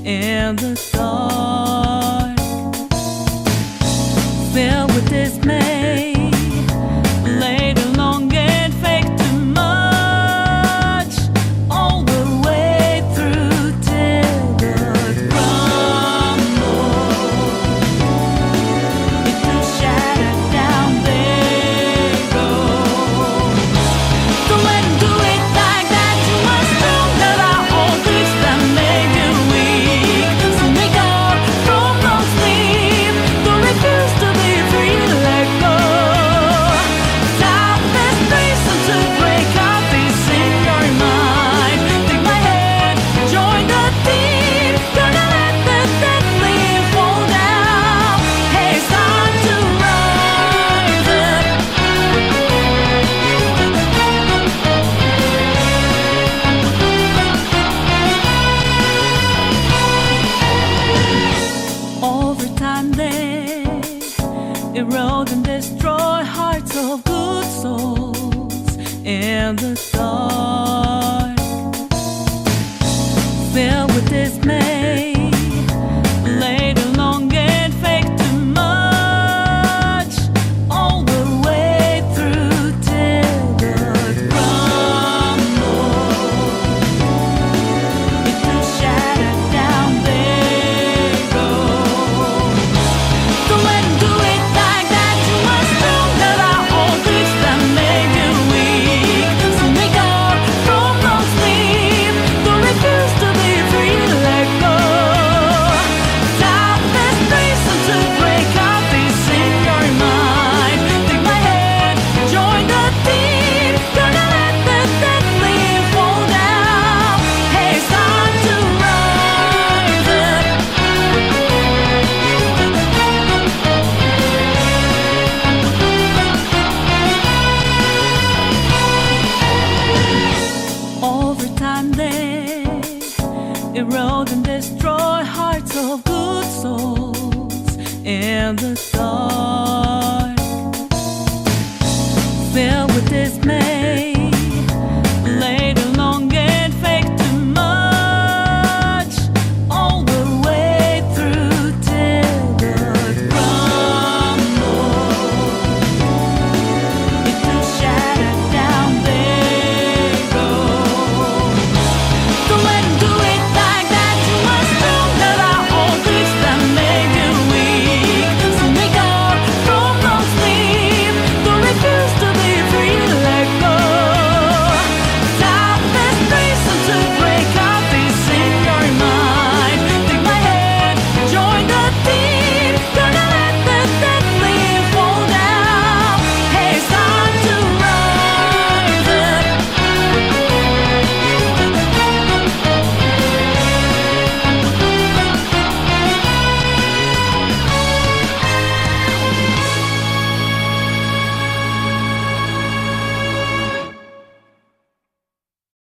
in the dark, filled with dismay, laid along and fake too much, all the way through till the crumble. It will shatter down, they go. Don't let 'em do it like that. You must know that our old tricks that make you weak. So make up from no sleep. Don't refuse to be free, let go. Time is reason to break out this in your mind. Take my hand, join the team. Gonna let the dead leaf fall down. Hey, it's time to rise up. Over time they erode and destroy hearts of good souls in the dark, filled with dismay, laid along and fake too much, all the way through till the crumble. It will shatter down, they go. Don't let 'em do it like that. You must know that our old tricks that make you weak. So make up from no sleep. Don't refuse to be free, let go. Time is reason to break out this in your mind. Take my hand, join the team. Gonna let the dead leaf fall down. Hey, it's time to rise up. Over time they erode and destroy hearts of good souls in the dark.